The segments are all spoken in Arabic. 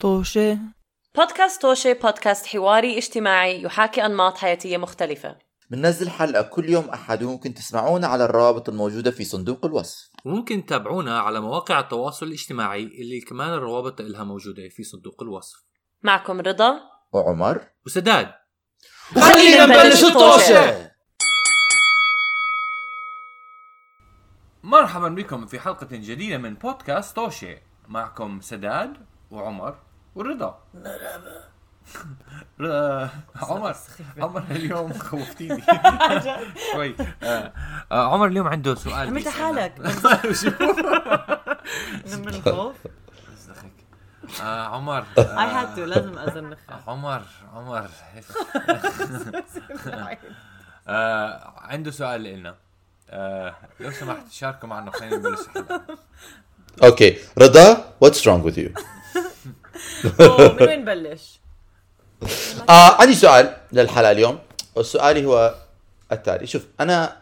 طوشة. بودكاست توشة بودكاست حواري اجتماعي يحاكي أنماط حياتية مختلفة. بننزل حلقة كل يوم أحد، وممكن تسمعونا على الروابط الموجودة في صندوق الوصف، وممكن تتابعونا على مواقع التواصل الاجتماعي اللي كمان الروابط لها موجودة في صندوق الوصف. معكم رضا وعمر وسداد. خلينا نبلش الطوشة. مرحبا بكم في حلقة جديدة من بودكاست توشة. معكم سداد وعمر ورضا. عمر اليوم خوفتيني شوي. عمر اليوم عنده سؤال. عملت حالك من الخوف. عمر I had to لازم أزنخ. عمر عنده سؤال لنا. لو سمحت شاركوا معنا. خلينا نبلش الحلقة. أوكي رضا، what's wrong with you؟ من وين نبلش؟ عندي سؤال للحلقة اليوم، والسؤال هو التالي. شوف أنا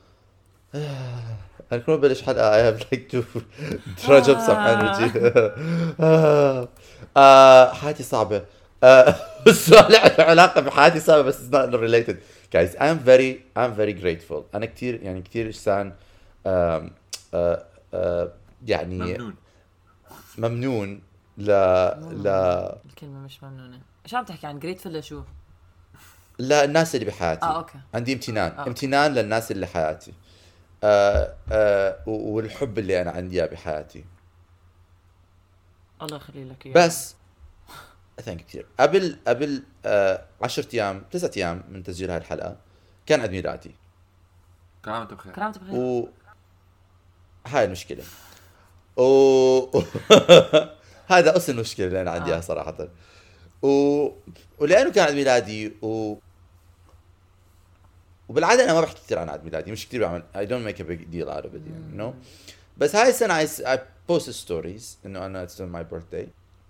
كل بلش حلقة I have like to drudge up some energy. حياتي صعبة. السؤال له علاقة بحياتي صعبة بس it's not related. Guys, I'm very grateful. أنا كتير إنسان يعني ممنون الكلمة مش ممنونة. إيش عم تحكي عن grateful لشو؟ لا، الناس اللي بحياتي. أوكي. عندي امتنان للناس اللي حياتي. والحب اللي أنا عندي بحياتي. الله يخلي لك إياه. بس ثانك كثير. قبل 9 أيام من تسجيل هاي الحلقة كان عيد ميلادي. كرامته بخير. هاي المشكلة. هذا أصل المشكلة اللي أنا عندي إياها صراحة. ولأنه كان عيد ميلادي وبالعادة أنا ما بحكي كثير عن عيد ميلادي، مش كثير بعمل I don't make a big deal out of it, you know. بس هاي السنة I posted stories إنه أنا it's my birthday.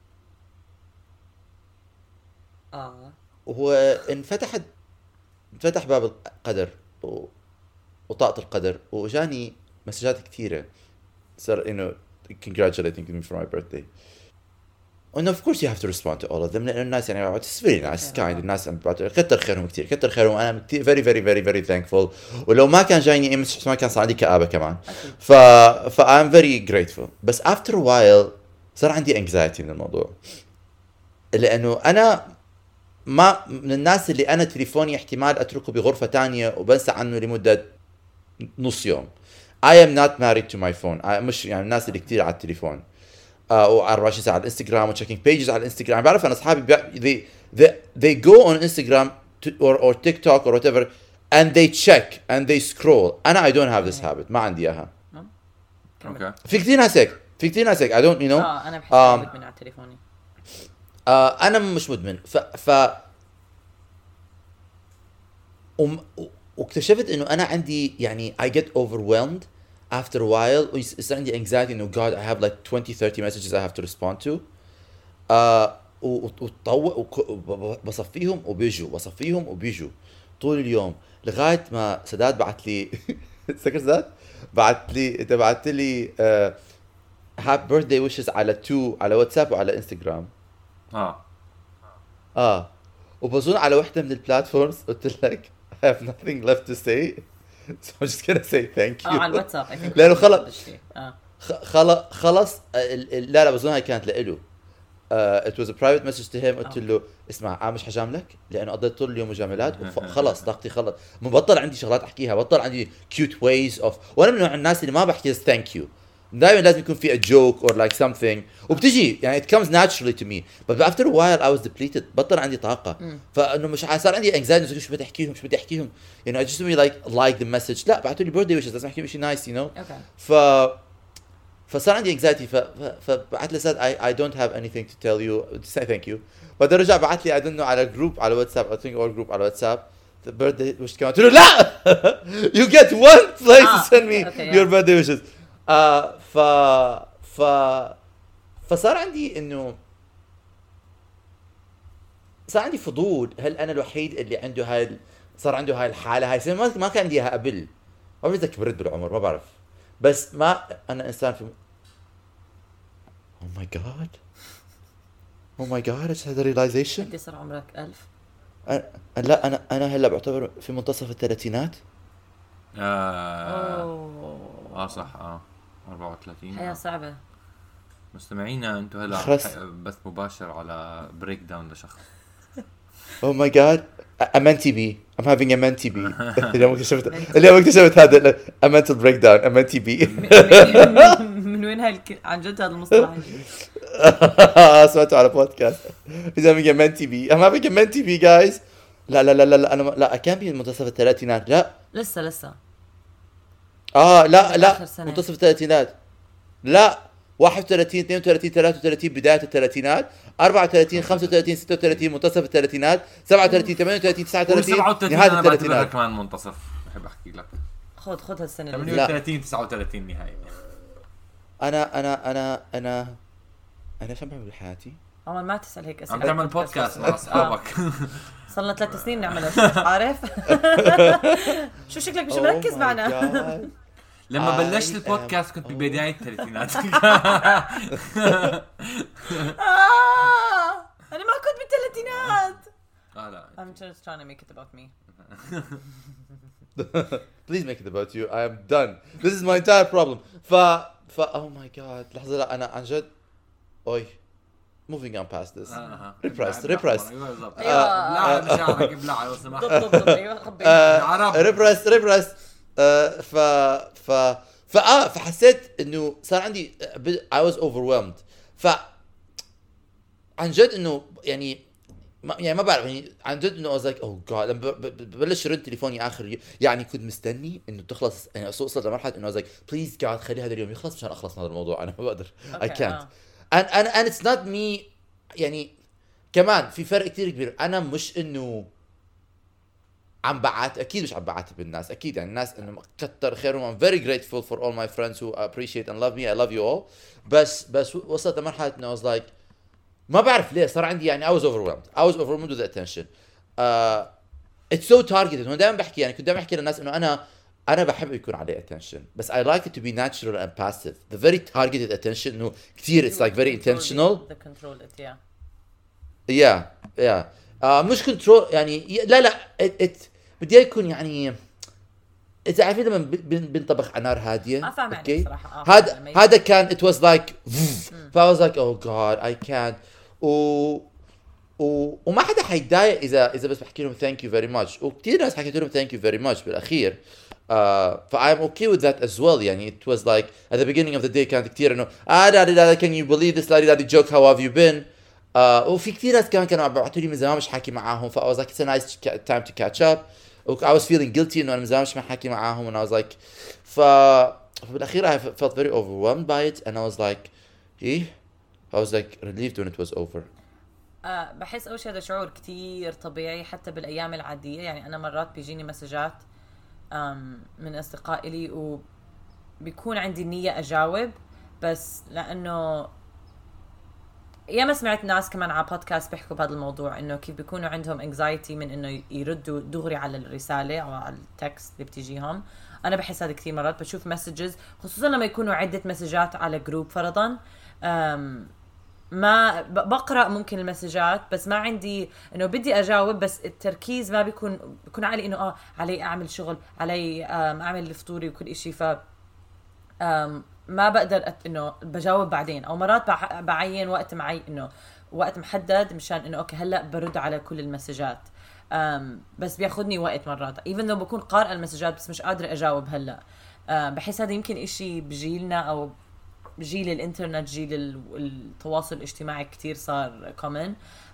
وهو انفتح باب القدر وطاقة القدر، وجاني مسجات كثيرة صار إنه congratulating me for my birthday. And of course you have to respond to all of them. لأن الناس يعني it's very nice, kind. الناس كتر خيرهم كتير، كتر خيرهم. أنا كتير very thankful. ولو ما كان جايني إيمج ما كان صار عندي كآبة كمان. I'm very grateful. بس after a while صار عندي anxiety من الموضوع، لأنه أنا ما من الناس اللي أنا تليفوني احتمال أتركه بغرفة تانية وبنسى عنه لمدة نص يوم. I am not married to my phone. مش يعني الناس اللي كتير على التليفون و24 ساعة على الانستغرام و checking pages على الانستغرام. بعرف أنا أصحابي they go on Instagram or TikTok or whatever and they check and they scroll. أنا I don't have this habit. ما عندي إياها. Okay. في كتير ناس هيك I don't you know. أنا بحس مدمن على تليفوني. أنا مش مدمن. واكتشفت إنه أنا عندي يعني I get overwhelmed after a while. ويصير عندي anxiety إنه God I have like 20-30 messages I have to respond to. بصفيهم وبيجوا طول اليوم لغاية ما سداد بعت لي سكر سداد بعت لي happy birthday wishes على واتساب وعلى انستغرام. وبظن على واحدة من البلاتفورمز قلت لك I have nothing left to say, so I'm just gonna say thank you. على الواتساب لأنه خلص لا بظن هاي كانت لإله. It was a private message to him. قلت له اسمع مش حجاملك لأنه قضيت طول اليوم مجاملات وخلص طاقتي خلص. مبطل عندي شغلات أحكيها، بطل عندي cute ways of. وأنا من نوع الناس اللي ما بحكي thank you. دائما لازم يكون في a joke or like something وبتجي يعني it comes naturally to me. But after a while I was depleted. بطل عندي طاقة. فإنه مش صار عندي anxiety. شو بدي أحكيهم you know. I just really like the message. لا بعتوا لي birthday wishes لازم أحكي شيء nice you know. فصار عندي anxiety. فبعت لي said I don't have anything to tell you to say thank you. بعدين رجع بعت لي I don't know على group على واتساب I think all group على واتساب the birthday wish كمان. قلت له لا you get one place to send me your birthday wishes. فصار عندي إنه صار عندي فضول. هل أنا الوحيد اللي عنده صار عنده هاي الحالة هاي؟ ما كان عندي إياها قبل. ما بعرف إذا كبرت بالعمر ما بعرف. بس ما أنا إنسان في Oh my God Oh my god I just had a realization. قد صار عمرك 1000؟ لا أنا هلا بعتبر في منتصف الثلاثينات. صح 34. حياة صعبة. مستمعينا انتوا هلا بث مباشر على بريك داون لشخص. Oh my god a mentee bee. I'm having a mentee bee. اليوم اكتشفت هذا a mental breakdown a mentee bee. من وين عن جد هذا المصطلح؟ سمعته على بودكاست. He's having a mentee bee. I'm having a mentee bee guys. لا أنا لا كان في منتصف الثلاثينات. لا لسه لا منتصف الثلاثينات. لا 31 32 33 بداية الثلاثينات 34 35 36 منتصف الثلاثينات 37 38 39 نهاية الثلاثينات. كمان منتصف بحب احكي لك. خذ هالسنة 38 39 نهاية. أنا شو بعمل بحياتي؟ عمر ما تسأل هيك أسئلة. عم تعمل بودكاست مع أصحابك. صلنا 3 سنين نعمل عارف. شو شكلك مش مركز معنا. لما بلشت البودكاست كنت ببداية الثلاثينات. أنا ما كنت بالثلاثينات. لا. I'm just trying to make it about me. Please make it about you. I am done. This is my entire problem. Oh my god. لحظة لا أنا عن جد. Moving on past this. Repressed. لا مشاعرك ابلع لو سمحت. Repressed. فحسيت إنه صار عندي I was overwhelmed. عن جد إنه يعني ما بعرف يعني عن جد إنه I was like oh god لما ببلش رن تليفوني آخر يعني كنت مستني إنه تخلص يعني وصلت لمرحلة إنه I was like please god خلي هذا اليوم يخلص مشان أخلص من هذا الموضوع أنا ما بقدر I can't and it's not me يعني كمان في فرق كتير كبير. أنا مش إنه عم بعات أكيد مش عم بعاتب بالناس أكيد يعني الناس إنه كتر خيرهم I'm very grateful for all my friends who appreciate and love me I love you all بس وصلت لمرحلة إنه I was like ما بعرف ليه صار عندي يعني I was overwhelmed with the attention. It's so targeted. أنا دائما بحكي يعني كنت دائما بحكي للناس إنه أنا بحب يكون عليه attention بس I like it to be natural and passive. The very targeted attention إنه كتير it's like very intentional. The control it yeah مش كنترول يعني لا بدي يكون يعني إذا عارفين لما بنطبخ على نار هادية. ما فاهم يعني صراحة. هذا كان it was like I was like oh god I can't وما حدا حيتضايق إذا بس بحكي لهم thank you very much وكتير ناس حكيت لهم thank you very much بالأخير. I'm okay with that as well يعني it was like at the beginning of the day كانت كتير إنه can you believe this lady joke how have you been. وفي كتير ناس كانوا عم بيبعتوا لي من زمان مش حاكي معاهم I was like it's a nice time to catch up. I was feeling guilty إنه أنا من زمان مش حاكي معاهم and I was like فبالأخير I felt very overwhelmed by it and I was like I was like relieved when it was over. بحس أول شيء هذا شعور كتير طبيعي حتى بالأيام العادية يعني أنا مرات بيجيني مسجات من أصدقائي لي وبيكون عندي النية أجاوب بس لأنه ياما سمعت ناس كمان على بودكاست بيحكوا بهذا الموضوع انه كيف بيكونوا عندهم anxiety من انه يردوا دغري على الرسالة او على التكست اللي بتجيهم. انا بحس هذا كثير مرات بشوف مسجز خصوصا لما يكونوا عدة مسجات على جروب فرضا ما بقرأ ممكن المسجات بس ما عندي انه بدي اجاوب بس التركيز ما بيكون علي انه علي اعمل شغل علي اعمل الفطوري وكل اشي ف ما بقدر انه بجاوب بعدين او مرات بعين وقت انه وقت محدد مشان انه اوكي هلا برد على كل المسجات بس بياخدني وقت مرات even though بكون قارئة المسجات بس مش قادرة اجاوب هلا. بحس هذا يمكن اشي بجيلنا او جيل الانترنت جيل التواصل الاجتماعي كتير صار common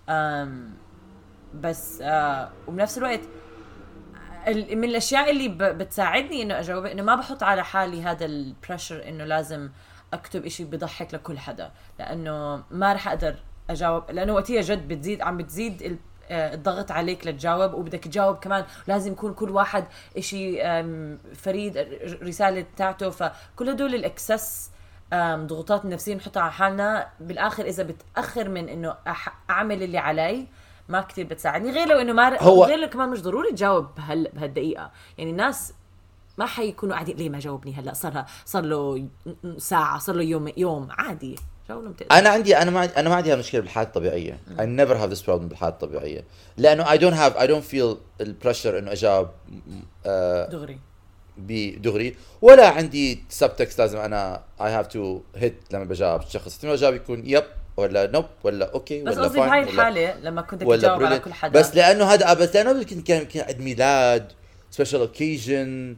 بس وبنفس الوقت من الاشياء اللي بتساعدني انه اجاوب انه ما بحط على حالي هذا البريشر انه لازم اكتب اشي بضحك لكل حدا لانه ما رح اقدر اجاوب لانه وقتها جد بتزيد الضغط عليك لتجاوب وبدك تجاوب كمان لازم يكون كل واحد اشي فريد رسالة بتاعته فكل هدول الاكسس ضغوطات النفسية نحطها على حالنا بالاخر اذا بتاخر من انه اعمل اللي علي ما كتير بتساعدني غير لو انه غير كمان مش ضروري تجاوب بهالدقيقة يعني الناس ما حيكونوا قاعدين ليه ما جاوبني هلا صار له ساعة صار له يوم عادي جاوبهم تقدر. انا ما عندي هالمشكله بالحياه الطبيعيه. I never have this problem بالحياه الطبيعيه لانه I don't feel البريشر انه اجاوب دغري بدغري، ولا عندي سبتكست لازم انا I have to hit لما بجاوب الشخص. لما جاوب يكون يب ولا نوب ولا اوكي بس ولا قصدي بهاي الحاله لما كنت تجاوب على كل حدا، بس لانه كان عيد ميلاد special occasion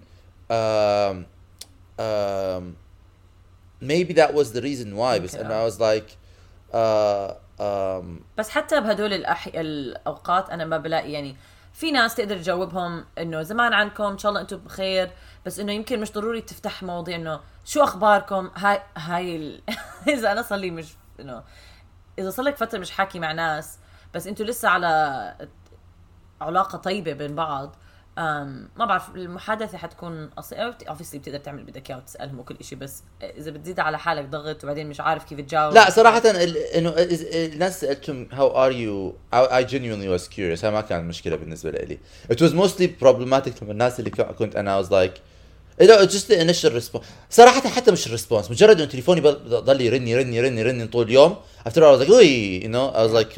maybe that was the reason why. بس انه I was like بس حتى بهدول الاوقات انا ما بلاقي يعني في ناس تقدر تجاوبهم انه زمان عنكم ان شاء الله انتم بخير، بس انه يمكن مش ضروري تفتح مواضيع انه شو اخباركم. هاي اذا انا صار لي مش انه اذا صار لك فتره مش حاكي مع ناس بس انتوا لسه على علاقه طيبه بين بعض، ما بعرف المحادثه حتكون obviously بتقدر تعمل بدك اياه وتسالهم وكل إشي، بس اذا بتزيد على حالك ضغط وبعدين مش عارف كيف تجاوب. لا صراحه انه الناس سالتهم how are you I genuinely was curious. هاي ما كانت مشكله بالنسبه لي. it was mostly problematic لما الناس اللي كنت انا was like just the initial response. صراحه حتى مش الريسبونس، مجرد انه تليفوني ضل يرن طول اليوم. after I was like you know I was like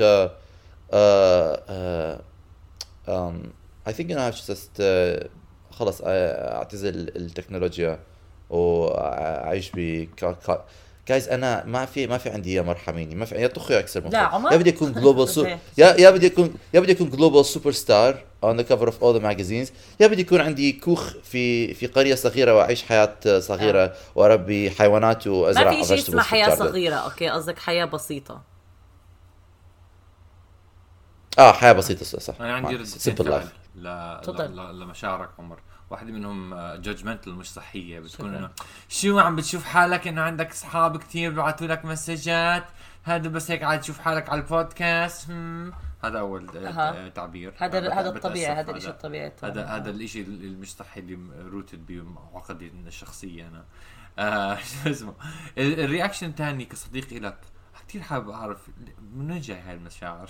I think I have to just خلص اعتزل التكنولوجيا واعيش guys. انا ما في عندي يا مرحميني، ما في يا طخي اكثر من يا بدي اكون global يا بدي اكون global superstar on the cover of all the magazines، يا بدي يكون عندي كوخ في قرية صغيرة واعيش حياة صغيرة واربي حيوانات وازرع. ما في شيء اسمه حياة صغيرة. اوكي قصدك حياة بسيطة. حياة بسيطة صح. انا عندي simple life. لمشاعرك عمر، واحدة منهم جادجمنتال مش صحية، بتكون انه شو عم بتشوف حالك انه عندك اصحاب كتير بيبعثوا لك مسجات، هذا بس هيك عاد تشوف حالك على البودكاست. هذا اول تعبير. هذا الطبيعي، هذا الاشي الطبيعي. هذا الاشي اللي مش صحي اللي روتد بعقدي الشخصية انا. شو اسمه الرياكشن الثاني كصديق لك، كتير حابب اعرف من وين جاي هاي المشاعر.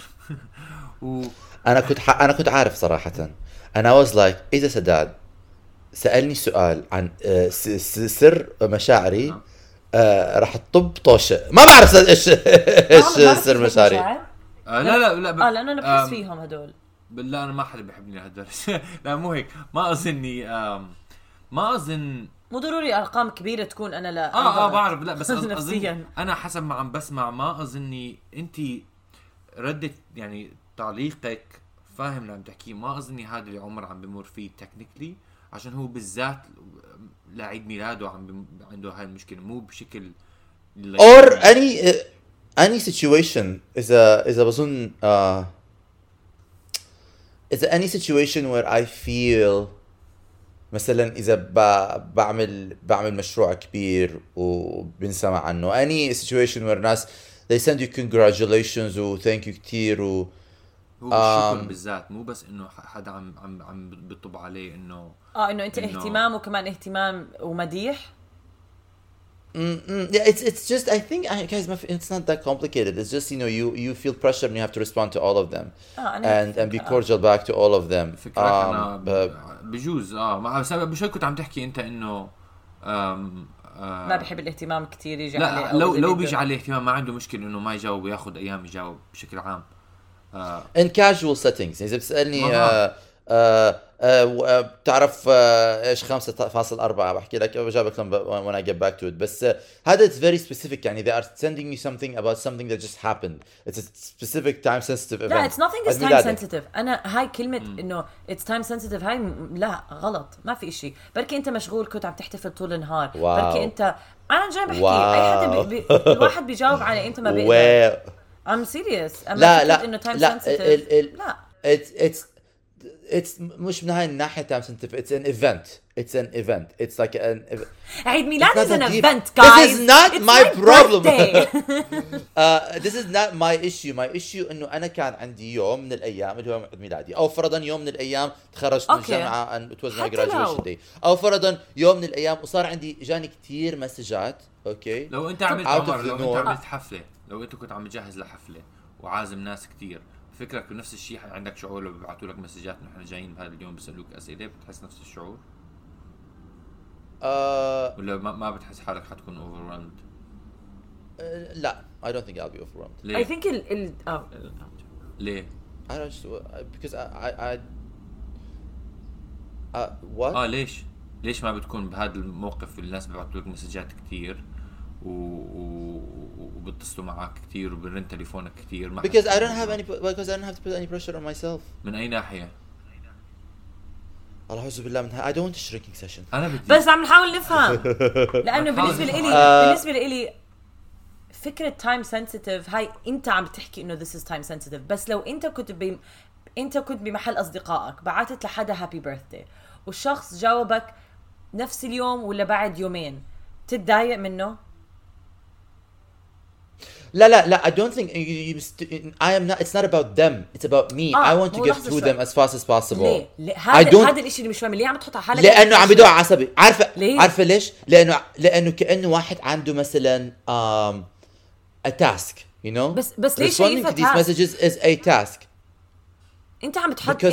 انا كنت عارف صراحة. انا was like اذا سداد سألني سؤال عن سر مشاعري راح تطب طوشة. ما بعرف ايش سر مشاعري. لا لانه انا بحس فيهم هدول. بالله انا ما حدا بيحبني هدول. لا مو هيك، ما اظن مو ضروري ارقام كبيره تكون انا لا بعرف. لا بس اظن انا حسب ما عم بسمع ما اظني انت ردت يعني تعليقك فاهم اللي عم تحكيه. ما اظني هذا اللي عمر عم بمر فيه تكنيكلي، عشان هو بالذات لعيد ميلاده عنده هاي المشكله، مو بشكل or any situation. اذا بظن اذا any situation where I feel مثلا اذا بعمل مشروع كبير وبنسمع عنه، any situation where ناس they send you congratulations و thank you كتير هو بالشكر بالذات، مو بس انه حدا عم بيطب عليه انه انه انت اهتمام وكمان اهتمام ومديح. Yeah, it's just I think guys it's not that complicated. It's just you feel pressure and you have to respond to all of them and be cordial back to all of them. بجوز مع سبب مش كنت عم تحكي انت انه ما بيحب الاهتمام كتير يجي لا عليه. لو بيجي عليه اهتمام ما عنده مشكله انه ما يجاوب وياخذ ايام يجاوب بشكل عام in casual settings. اذا بتسالني بتعرف ايش 5.4 بحكي لك بجاوبك when I get back to it. بس هذا it's very specific يعني they are sending you something about something that just happened. It's a specific time sensitive event. لا it's nothing is time sensitive. أنا هاي كلمة إنه it's time sensitive هاي لا غلط، ما في إشي. بركي أنت مشغول كنت عم تحتفل طول النهار. بركي أنت أنا جاي بحكي أي حدا الواحد بيجاوب على أنت ما بيقدر. I'm serious. لا إنه time sensitive. لا it's مش من هاي الناحية time sensitive. It's an event. It's like an عيد ميلاد is an event, guys. This is not my problem. This is not my issue. My issue إنه أنا كان عندي يوم من الأيام اللي هو عيد ميلادي، أو فرضاً يوم من الأيام تخرجت من الجامعة and it was my graduation day، أو فرضاً يوم من الأيام وصار عندي جاني كتير مسجات. أوكي. لو أنت عملت عمر، لو أنت عملت حفلة، لو أنت كنت عم تجهز لحفلة وعازم ناس كتير، فكرك بنفس الشيء عندك شعور لو بيبعثوا لك مسجات نحن جايين بهذا اليوم بيسألوك أسئلة، بتحس نفس الشعور؟ ولا ما بتحس حالك حتكون overwhelmed؟ لا I don't think I'll be overwhelmed. I think ليه؟ I don't just because I what ليش ما بتكون بهذا الموقف الناس بيبعتوا لك مسجات كتير وبتصلوا معك كتير وبرن تليفونك كتير because I don't have to put any pressure on myself. من أي ناحية؟ الله أعوذ بالله منها. I don't want a shrinking session. أنا بدي بس عم نحاول نفهم لأنه بالنسبة لإلي فكرة time sensitive هاي أنت عم بتحكي إنه this is time sensitive بس لو أنت كنت بمحل أصدقائك بعتت لحدا happy birthday والشخص جاوبك نفس اليوم ولا بعد يومين تتضايق منه؟ لا I don't think I am not. It's not about them. It's about me. I want to get through them as fast as possible. ليه؟ هذا الاشي اللي مش فاهم ليه عم تحط على حالك لأنه عم بدوع عصبي. عارفة ليش؟ لأنه كأنه واحد عنده مثلا a task, you know. بس ليش شايفها responding to these messages is a task. انت عم بتحط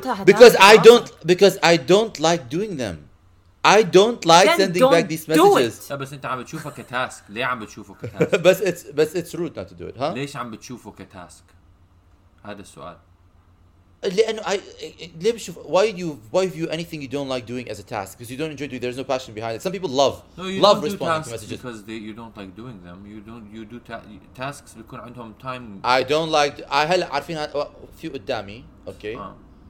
because I don't like doing them. I don't like sending back these messages. بس انت عم بتشوفه كتاسك. ليه عم بتشوفه كتاسك؟ بس it's rude not to do it, huh? ليش عم بتشوفه كتاسك؟ هذا السؤال. لأنه ليه بشوف why view anything you don't like doing as a task because you don't enjoy doing. There's no passion behind it. Some people love responding to messages because you don't like doing them. You do tasks بيكون عندهم time. I don't like. هلا عارفين في قدامي okay.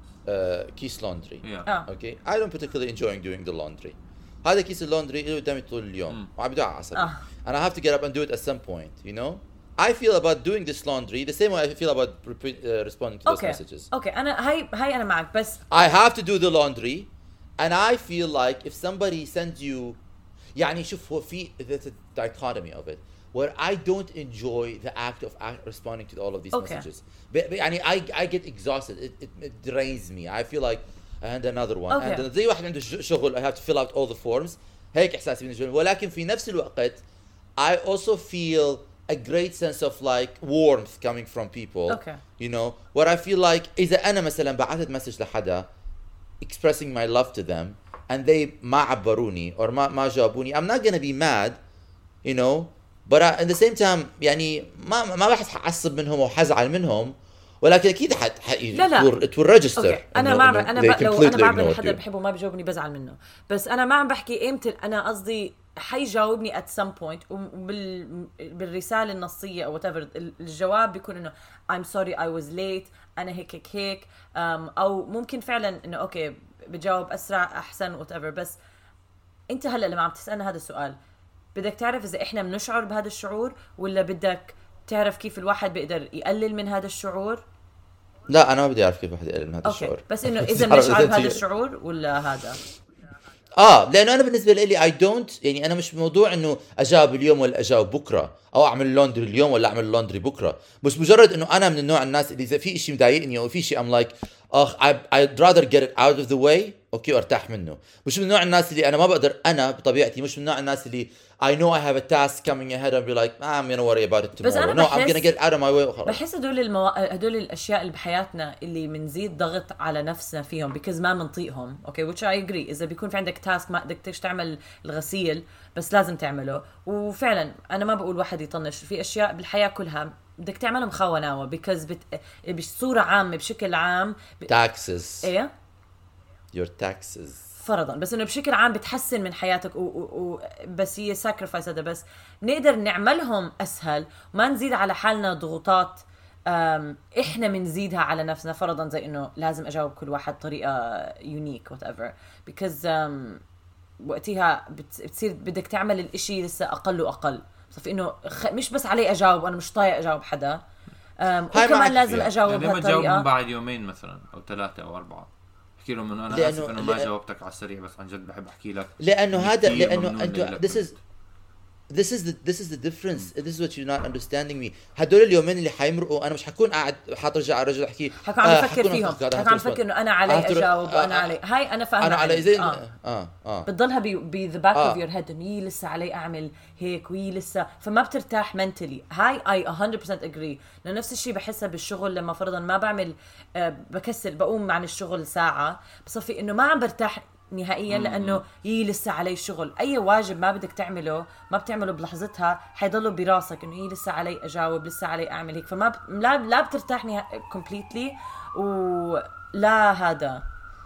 كيس laundry. Okay. I don't particularly enjoy doing the laundry. هذا كيس اللوندري اللي قدامي طول اليوم وعم بدوع عصبي. And I have to get up and do it at some point, you know. I feel about doing this laundry the same way I feel about responding to those messages. Okay. أنا هاي أنا معك بس. I have to do the laundry, and I feel like if somebody sends you, يعني شوف هو في there's a dichotomy of it where I don't enjoy the act of responding to all of these messages. يعني I get exhausted. It drains me. I feel like and another one. And زي واحد عنده شغل I have to fill out all the forms. هيك إحساسي بالنسبة لي. ولكن في نفس الوقت I also feel a great sense of like warmth coming from people. You know, where I feel like إذا أنا مثلا بعثت مسج لحدا expressing my love to them and they ما عبروني or ما جاوبوني, I'm not gonna be mad, you know, but at the same time يعني ما راح أعصب منهم أو حزعل منهم, ولكن أكيد it will register. أنا لو أنا بعمل حدا بحبه ما بجاوبني بزعل منه, بس أنا ما عم بحكي إمتى. أنا قصدي حيجاوبني at some point بالرسالة النصية أو whatever الجواب بيكون إنه I'm sorry I was late أنا هيك أو ممكن فعلا إنه أوكي بجاوب أسرع أحسن whatever. بس أنت هلأ لما عم تسألنا هذا السؤال بدك تعرف إذا إحنا بنشعر بهذا الشعور ولا بدك تعرف كيف الواحد بيقدر يقلل من هذا الشعور؟ لا أنا ما بدي أعرف كيف الواحد يقلل من هذا الشعور. بس إنه إذا بنشعر بهذا الشعور ولا هذا لانه انا بالنسبه لي اي دونت يعني انا مش موضوع انه اجاوب اليوم ولا اجاوب بكره او اعمل لوندري اليوم ولا اعمل لوندري بكره, مش مجرد انه انا من النوع الناس اللي اذا في شيء مضايقني او في شيء ام لايك I'd rather get it out of the way اوكي وارتاح منه. مش من نوع الناس اللي انا ما بقدر, انا بطبيعتي مش من نوع الناس اللي I know I have a task coming ahead and be like I'm gonna worry about it tomorrow. No, I'm gonna get out of my way وخلاص. بحس هدول الاشياء اللي بحياتنا اللي منزيد ضغط على نفسنا فيهم because ما منطيقهم اوكي which I agree. اذا بيكون في عندك تاسك ما بدك تعمل الغسيل بس لازم تعمله, وفعلا انا ما بقول واحد يطنش في اشياء بالحياه كلها بدك تعملها مخوناوه because بصوره عامه بشكل عام taxes ايه your taxes فرضا, بس انه بشكل عام بتحسن من حياتك بس هي sacrifice هذا, بس نقدر نعملهم اسهل وما نزيد على حالنا ضغوطات احنا منزيدها على نفسنا. فرضا زي انه لازم اجاوب كل واحد طريقه يونيك whatever because وقتها بتصير بدك تعمل الاشي لسه اقل واقل. صف انه مش بس علي اجاوب وانا مش طايق اجاوب حدا, وكمان لازم اجاوب يعني بهالطريقه بعد يومين مثلا او 3 أو 4 احكي لهم انه انا اسف انه ما جاوبتك على السريع بس عن جد بحب احكي لك لانه هذا لانه انت this is the difference. This is what you're not understanding me. هدول اليومين اللي حيمرقوا انا مش حكون قاعد حاطرجع على رجل احكي حكون عم بفكر فيهم, حكون عم بفكر انه انا علي اجاوب وانا علي هاي انا فاهمه انا علي زي بتضلها ب the back of your head انه لسه علي اعمل هيك لسه, فما بترتاح mentally. هاي I 100% agree. نفس الشيء بحسها بالشغل لما فرضا ما بعمل بكسل بقوم عن الشغل ساعه بصفي انه ما عم برتاح نهائيا، لانه لسه علي شغل. اي واجب ما بدك تعمله ما بتعمله بلحظتها، حيضله براسك انه لسه علي اجاوب، لسه علي اعمل هيك، فما لا بترتاح كومبليتلي. ولا هذا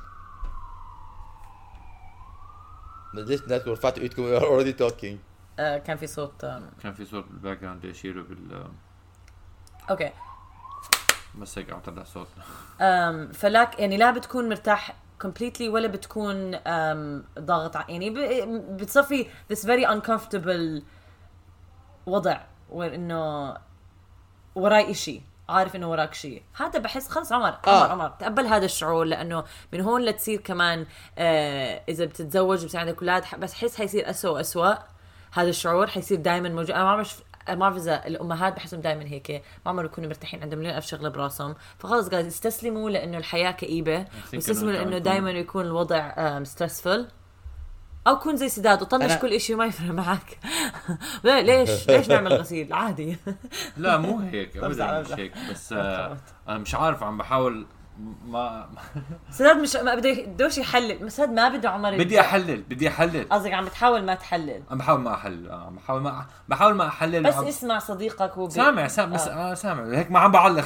ليش بدك رفعتوا ايدكم already talking؟ كان في صوت بالباك جراوند يشيروا اوكي بس هيك عم طلع صوت. فلاك يعني لا بتكون مرتاح completely ولا بتكون ضاغط يعني بتصفي this very uncomfortable وضع، وإنه وراي إشي، عارف إنه وراك شيء. هذا بحس خلص عمر تقبل هذا الشعور، لأنه من هون لتصير كمان إذا بتتزوج وبصير عندك أولاد، بس حس حيصير أسوأ هذا الشعور حيصير دائما موجود. أنا ما بعرف إذا الأمهات بحسهم دائما هيك، ما عمرهم يكونوا مرتاحين، عندهم مليون ألف شغلة براسهم، فخلص قاعد يستسلموا لأنه الحياة كئيبة، يستسلموا لأنه دائما يكون الوضع stressful، أو كون زي سداد وطنش كل إشي وما يفرق معك. ليش نعمل غسيل عادي؟ لا مو هيك أبدا، مش هيك، بس أنا مش عارف، عم بحاول ما سداد مش ما بدوش يحلل، سداد ما بده عمر بدي احلل قصدك عم بتحاول ما تحلل؟ عم بحاول ما احلل، بحاول ما احلل، بس اسمع صديقك سامع سامع هيك ما عم بعلق.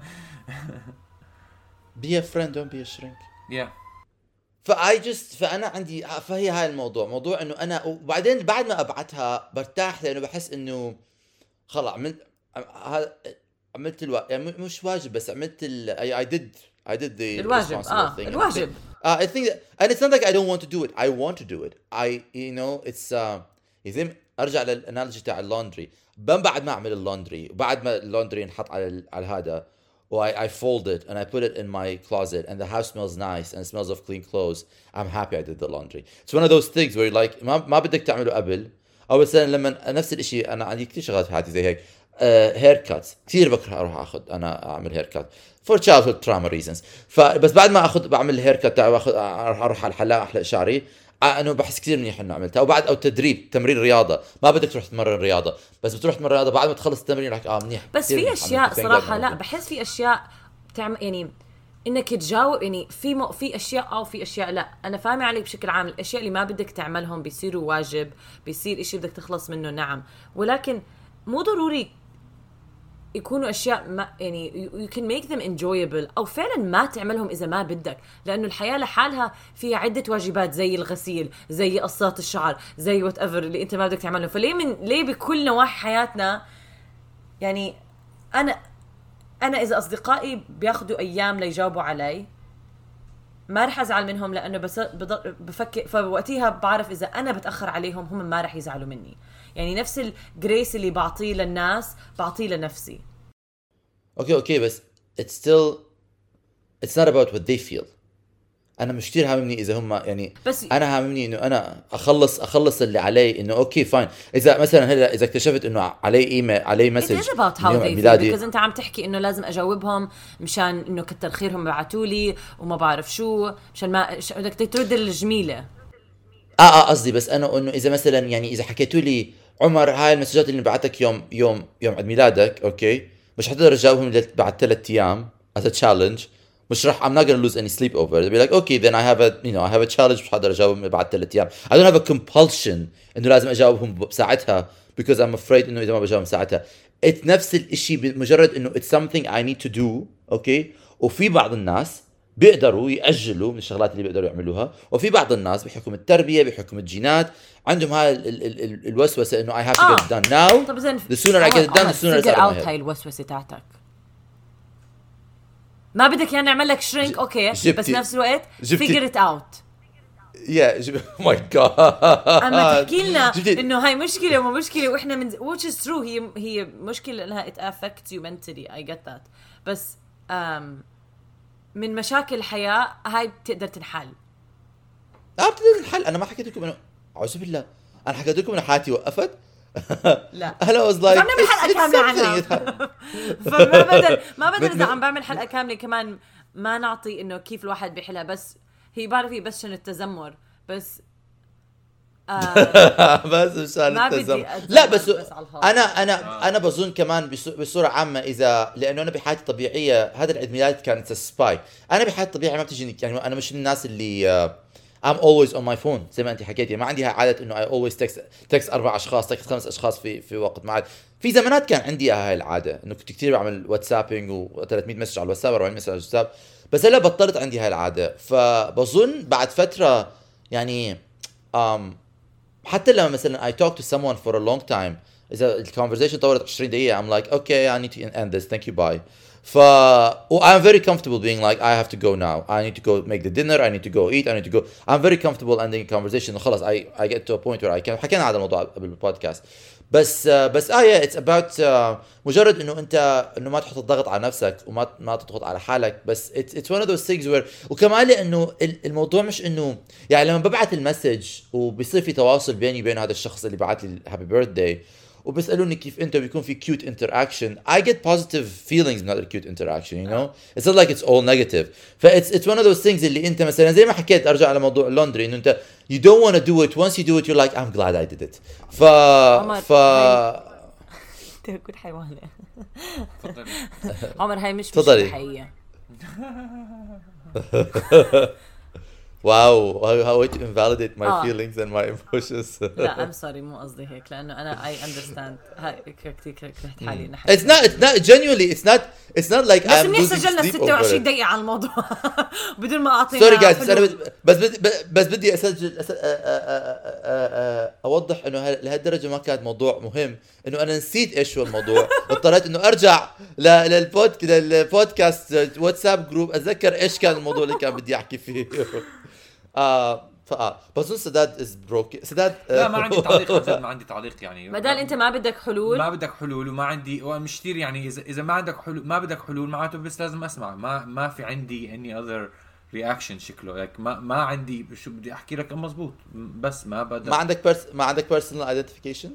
be a friend don't be a shrink. yeah فانا عندي فهي هاي الموضوع، موضوع انه انا وبعدين بعد ما ابعتها برتاح، لانه بحس انه خلص عملت يعني مش واجب، بس عملت I did the الواجب. الواجب. I think that, and it's not like I don't want to do it. I want to do it. It's إذا أرجع للأنالوجي تاع اللندري، بعد ما أعمل اللندري، بعد ما اللندري ينحط على هذا، I fold it and I put it in my closet and the house smells nice and it smells of clean clothes. I'm happy I did the laundry. It's one of those things where you're like ما بدك تعمله قبل، أو مثلا لما نفس الإشي أنا عندي كتير شغلات في حياتي زي هيك. haircuts كثير بكره اروح اعمل haircut for childhood trauma reasons. فبس بعد ما بعمل الهيركت تاعي اروح على الحلاق احلق شعري، انه بحس كثير منيح انه عملتها. وبعد او تمرين رياضه، ما بدك تروح تمرن رياضه، بس بتروح تمرن رياضه بعد ما تخلص التمرين لك منيح. بس في اشياء صراحه لا بحس في اشياء تعمل يعني انك تجاوب، يعني في اشياء او في اشياء لا. انا فاهمه عليك بشكل عام، الاشياء اللي ما بدك تعملهم بيصيروا واجب، بيصير اشي بدك تخلص منه، نعم، ولكن مو ضروري يكونوا أشياء ما يعني you can make them enjoyable، أو فعلا ما تعملهم إذا ما بدك، لأنه الحياة لحالها فيها عدة واجبات زي الغسيل، زي قصات الشعر، زي whatever اللي أنت ما بدك تعمله. ليه بكل نواحي حياتنا يعني أنا إذا أصدقائي بياخدوا أيام ليجاوبوا علي ما رح أزعل منهم، لأنه بس بفكر فوقتها بعرف إذا أنا بتأخر عليهم هم ما رح يزعلوا مني. يعني نفس الجريس اللي بعطيه للناس بعطيه لنفسي. اوكي بس it's not about what they feel. انا مش كتير هاممني اذا هم يعني، بس انا هاممني انه انا اخلص اللي علي، انه اوكي فاين. اذا مثلا هلا اذا اكتشفت انه علي ايميل علي مسج because انت عم تحكي انه لازم اجاوبهم مشان انه كتر خيرهم بعتوا لي وما بعرف شو، مشان ما بدك ترد الجميله. قصدي بس انا انه اذا مثلا يعني اذا حكيتوا لي عمر هاي المسجات اللي بعتك يوم عيد ميلادك، اوكي مش حتقدر تجاوبهم بعد 3 ايام as a challenge، مش راح I'm not gonna lose any sleep over it. Be like okay then I have a challenge، مش حقدر اجاوبهم بعد 3 ايام. I don't have a compulsion انه لازم اجاوبهم بساعتها because I'm afraid انه اذا ما بجاوبهم ساعتها. it's نفس الاشي بمجرد انه it's something I need to do. اوكي وفي بعض الناس بيقدروا يأجلوا من الشغلات اللي بيقدروا يعملوها، وفي بعض الناس بحكم التربية بحكم الجينات عندهم هاي الوسوسة انه I have to get it done now. the sooner I get it done the sooner it's out. هاي الوسوسة تاعتك ما بدك يعني نعمل لك شرينك اوكي بس نفس الوقت figure it out. oh my god اما تحكي لنا انه هاي مشكلة وما مشكلة واحنا من which is true، هي مشكلة انها it affects you mentally I get that، بس من مشاكل الحياة هاي بتقدر تنحل. بتقدر تنحل. أنا ما حكيت لكم أنه أعوذ بالله، أنا حكيت لكم أن حياتي وقفت. لا أنا was like نعمل حلقة كاملة عنها. فما بدل إذا عم بعمل حلقة كاملة كمان ما نعطي إنه كيف الواحد بيحلها، بس هي بعرف بس شنو التذمر بس بس مشان التزم. لا بس انا بظن كمان بصوره عامه، اذا لانه انا بحياتي الطبيعيه هذا العيد ميلاد كانت سباي. انا بحياتي الطبيعيه ما بتجيني يعني، انا مش من الناس اللي I'm always on my phone زي ما انت حكيتي. ما عندي عاده انه I always text 4 اشخاص text 5 اشخاص في وقت معين. في زمانات كان عندي هاي العاده انه كنت كثير بعمل واتسابينج و300 مسج على الواتساب 400 مسج على الواتساب، بس هلا بطلت عندي هاي العاده. فبظن بعد فتره يعني حتى لما مثلا I talk to someone for a long time إذا الكونفرسيشن طولت 20 دقيقة I'm like okay I need to end this thank you bye. I'm very comfortable being like I have to go now, I need to go make the dinner, I need to go eat, I need to go. I'm very comfortable ending a conversation. خلاص I get to a point where I can. حكينا هذا الموضوع بالبودكاست. بس yeah it's about مجرد انه انت انه ما تحط الضغط على نفسك وما تضغط على حالك. بس it's one of those things where وكمان لانه الموضوع مش انه يعني لما ببعث المسج وبيصير في تواصل بيني وبين هذا الشخص اللي بعث لي هابي بيرثداي وبيسألوني كيف انت بيكون في cute interaction, I get positive feelings من هذا cute interaction, you know. It's not like it's all negative. It's one of those things اللي انت مثلا زي ما حكيت ارجع على موضوع اللوندري انه انت you don't want to do it, once you do it you're like I'm glad I did it. كنت حيوانة. تفضلي. عمر هاي مش حقيقية. Wow, how to invalidate my feelings and my emotions. لا I'm sorry مو قصدي هيك لأنه أنا I understand هاي كتير كرهت حالي. It's not genuinely it's not like I'm losing sleep. بس سجلنا 26 دقيقة على الموضوع بدون ما أعطينا. Sorry guys بس بدي أسجل أوضح إنه لهالدرجة ما كانت موضوع مهم إنه أنا نسيت إيش هو الموضوع. اضطريت إنه أرجع للبودكاست واتساب جروب أتذكر إيش كان الموضوع اللي كان بدي أحكي فيه. بظن سداد is broken. سداد لا ما عندي تعليق. ما عندي تعليق يعني بدل انت ما بدك حلول وما عندي ومش كثير يعني اذا ما عندك حلول ما بدك حلول معناته بس لازم اسمع. ما في عندي any other reaction شكله like ما عندي شو بدي احكي لك مزبوط. بس ما بدك ما عندك personal identification.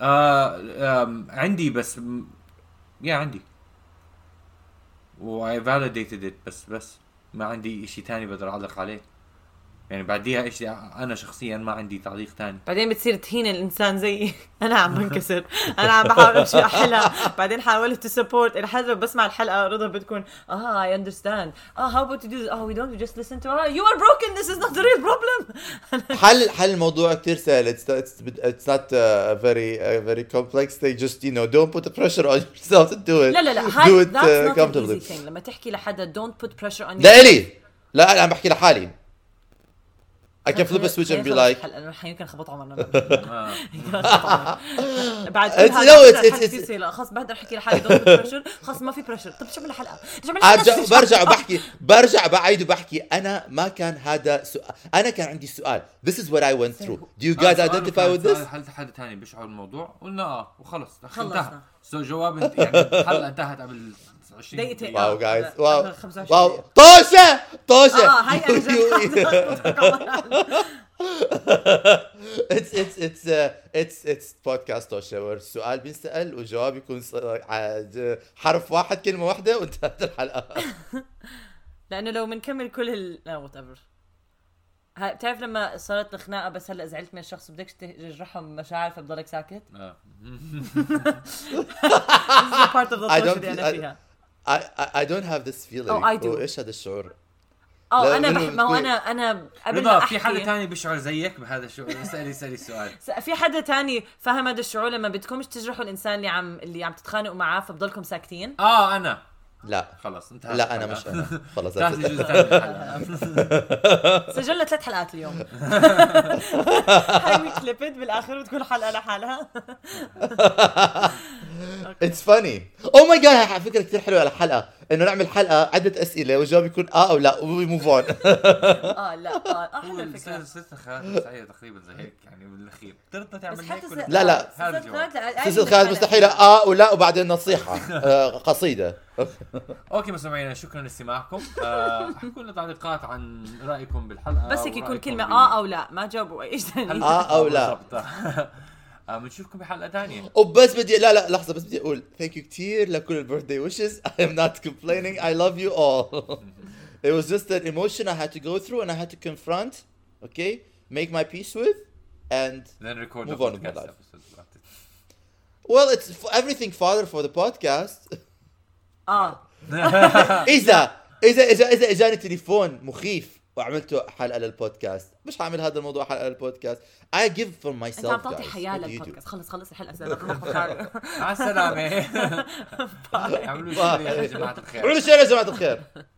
عندي بس عندي و I validated it بس ما عندي إشي تاني بقدر أعلق عليه. يعني بعديها إشي أنا شخصيا ما عندي تعليق تاني. بعدين بتصير تهين الإنسان زي أنا عم بنكسر أنا عم بحاول أمشي أحلى. بعدين حاولت to support الحلقة بسمع الحلقة رضا بتكون I understand how about you do this? we don't just listen to you are broken, this is not the real problem. حل الموضوع كتير سهل. It's not very complex. They just don't put the pressure on yourself to do it. لا do it that's not comfortably. an easy thing. لما تحكي لحدا don't put pressure on لا أنا بحكي لحالي. I can flip a switch and be like أنا يمكن خبط عمرنا بعد لا خلاص بقدر أحكي لحالي don't put pressure. خلاص ما في pressure. طب شو من الحلقة برجع بعيد وبحكي أنا ما كان هذا أنا كان عندي سؤال. This is what I went through. Do you guys identify with this? هل حد تاني بيشعر الموضوع؟ قلنا وخلص انتهى. جواب يعني الحلقة انتهت قبل 20 دقيقة. واو جايز واو طوشة هاي أنا it's podcast طوشة. السؤال بينسأل والجواب يكون حرف واحد كلمة واحدة وانتهت الحلقة. لأنه لو منكمل كل whatever. بتعرف لما صارت الخناقة بس هلأ زعلت من الشخص بدكش تجرحهم مشاعر فبضلك ساكت. part of the اللي أنا فيها. I don't have this feeling. I do. إيش هذا الشعور؟ أنا قبل ما أحكي في حدا تاني بيشعر زيك بهذا الشعور. اسألي السؤال. في حدا تاني فهم هذا الشعور لما بدكمش تجرحوا الإنسان اللي عم تتخانقوا معاه فبضلكم ساكتين؟ أنا لا خلص انتهى. لا أنا مش أنا خلص. سجلنا 3 حلقات اليوم. هاي كليبت بالآخر وتكون حلقة لحالها. It's funny. Oh my god فكرة كتير حلوة على حلقة إنه نعمل حلقة عدة أسئلة والجواب يكون أو لا we move on. لا أحلى فكرة. سلسلة خيانات مستحيلة تقريبا زي هيك يعني بالأخير. ترضى تعمل هيك ولا لا سلسلة خيانات مستحيلة ولا وبعدين نصيحة قصيدة. اوكي مستمعينا شكرا لاستماعكم. احكوا لنا تعليقات عن رايكم بالحلقه بس هيك يكون كلمه او لا ما جاوبوا ايش ثاني او لا. بنشوفكم بحلقه ثانيه. وبس بدي لا لحظه بس بدي اقول ثانك يو كثير لكل البيرثداي ويشز. I am not complaining. I love you all. It was just an emotion I had to go through and I had to confront, okay, make my peace with and then record move on with my life. Well, it's everything father for the podcast. إذا إجاني تليفون مخيف وعملته حلقه للبودكاست، مش هعمل هذا الموضوع حلقه للبودكاست. I give for myself. انت عم تعطي حياه للبودكاست. خلص الحلقه زين. مع السلامه. اعملوا شير يا جماعه الخير. اعملوا شير يا جماعه الخير.